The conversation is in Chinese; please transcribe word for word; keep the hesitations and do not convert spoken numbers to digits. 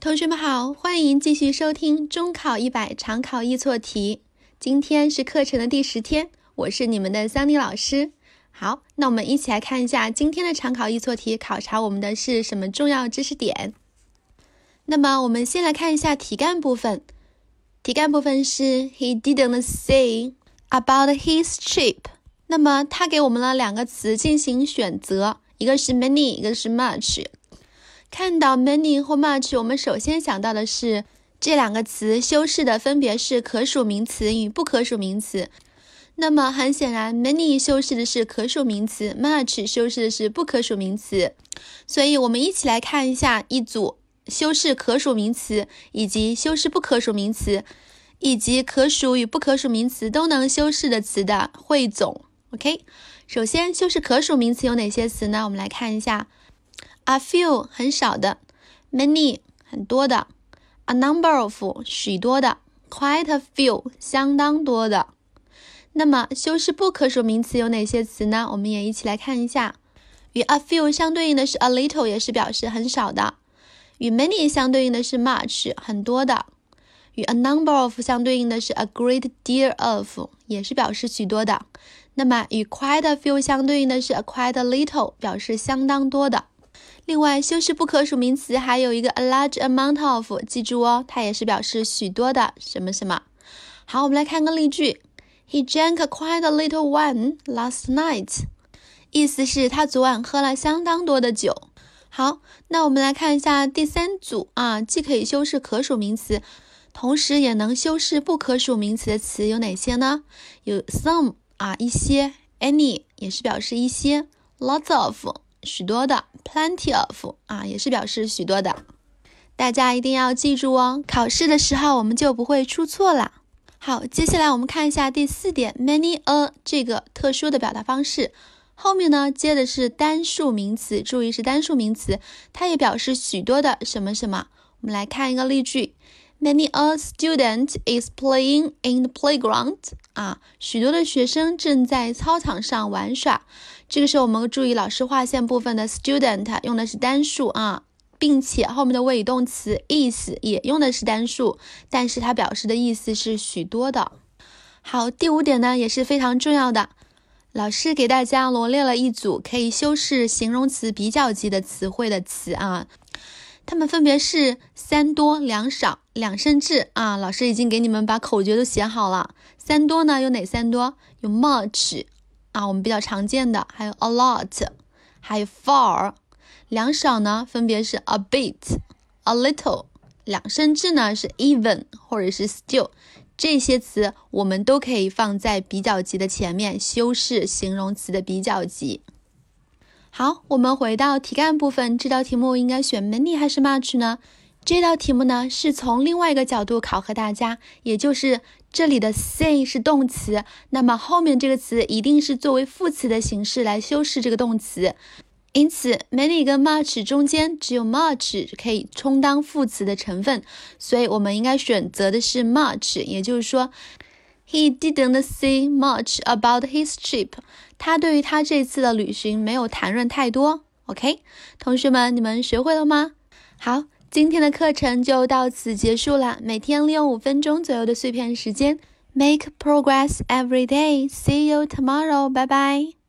同学们好，欢迎继续收听中考一百常考易错题。今天是课程的第十天，我是你们的桑尼老师。好，那我们一起来看一下今天的常考易错题考察我们的是什么重要知识点。那么我们先来看一下题干部分。题干部分是 He didn't say about his trip。 那么他给我们了两个词进行选择，一个是 many， 一个是 much。看到 many 或 much， 我们首先想到的是这两个词修饰的分别是可数名词与不可数名词。那么很显然 many 修饰的是可数名词， much 修饰的是不可数名词。所以我们一起来看一下一组修饰可数名词以及修饰不可数名词以及可数与不可数名词都能修饰的词的汇总。 OK， 首先修饰可数名词有哪些词呢？我们来看一下A few 很少的， many 很多的， a number of 许多的， quite a few 相当多的。那么修饰不可数名词有哪些词呢？我们也一起来看一下。与 a few 相对应的是 a little， 也是表示很少的。与 many 相对应的是 much， 很多的。与 a number of 相对应的是 a great deal of， 也是表示许多的。那么与 quite a few 相对应的是 a quite a little， 表示相当多的。另外修饰不可数名词还有一个 a large amount of， 记住哦，它也是表示许多的什么什么。好，我们来看个例句。 He drank quite a little wine last night， 意思是他昨晚喝了相当多的酒。好，那我们来看一下第三组啊，既可以修饰可数名词同时也能修饰不可数名词的词有哪些呢？有 some 啊，一些， any 也是表示一些， lots of许多的， plenty of 啊，也是表示许多的。大家一定要记住哦，考试的时候我们就不会出错了。好，接下来我们看一下第四点 many a 这个特殊的表达方式。后面呢接的是单数名词，注意是单数名词，它也表示许多的什么什么。我们来看一个例句。 Many a student is playing in the playground， 啊，许多的学生正在操场上玩耍。这个时候我们注意老师划线部分的 student 用的是单数啊，并且后面的谓语动词 is 也用的是单数，但是它表示的意思是许多的。好，第五点呢也是非常重要的，老师给大家罗列了一组可以修饰形容词比较级的词汇的词啊，它们分别是三多、两少、两甚至啊，老师已经给你们把口诀都写好了。三多呢有哪三多？有 much 啊，我们比较常见的，还有 a lot， 还有 far。 两少呢分别是 a bit、a little。 两甚至呢是 even 或者是 still。 这些词我们都可以放在比较级的前面，修饰形容词的比较级。好，我们回到题干部分，这道题目应该选 many 还是 much 呢？这道题目呢是从另外一个角度考核大家，也就是这里的 say 是动词，那么后面这个词一定是作为副词的形式来修饰这个动词。因此 many 跟 much 中间只有 much 可以充当副词的成分，所以我们应该选择的是 much， 也就是说 He didn't say much about his trip， 他对于他这次的旅行没有谈论太多。 OK， 同学们你们学会了吗？好，今天的课程就到此结束了，每天利用五分钟左右的碎片时间 Make progress every day. See you tomorrow. Bye bye.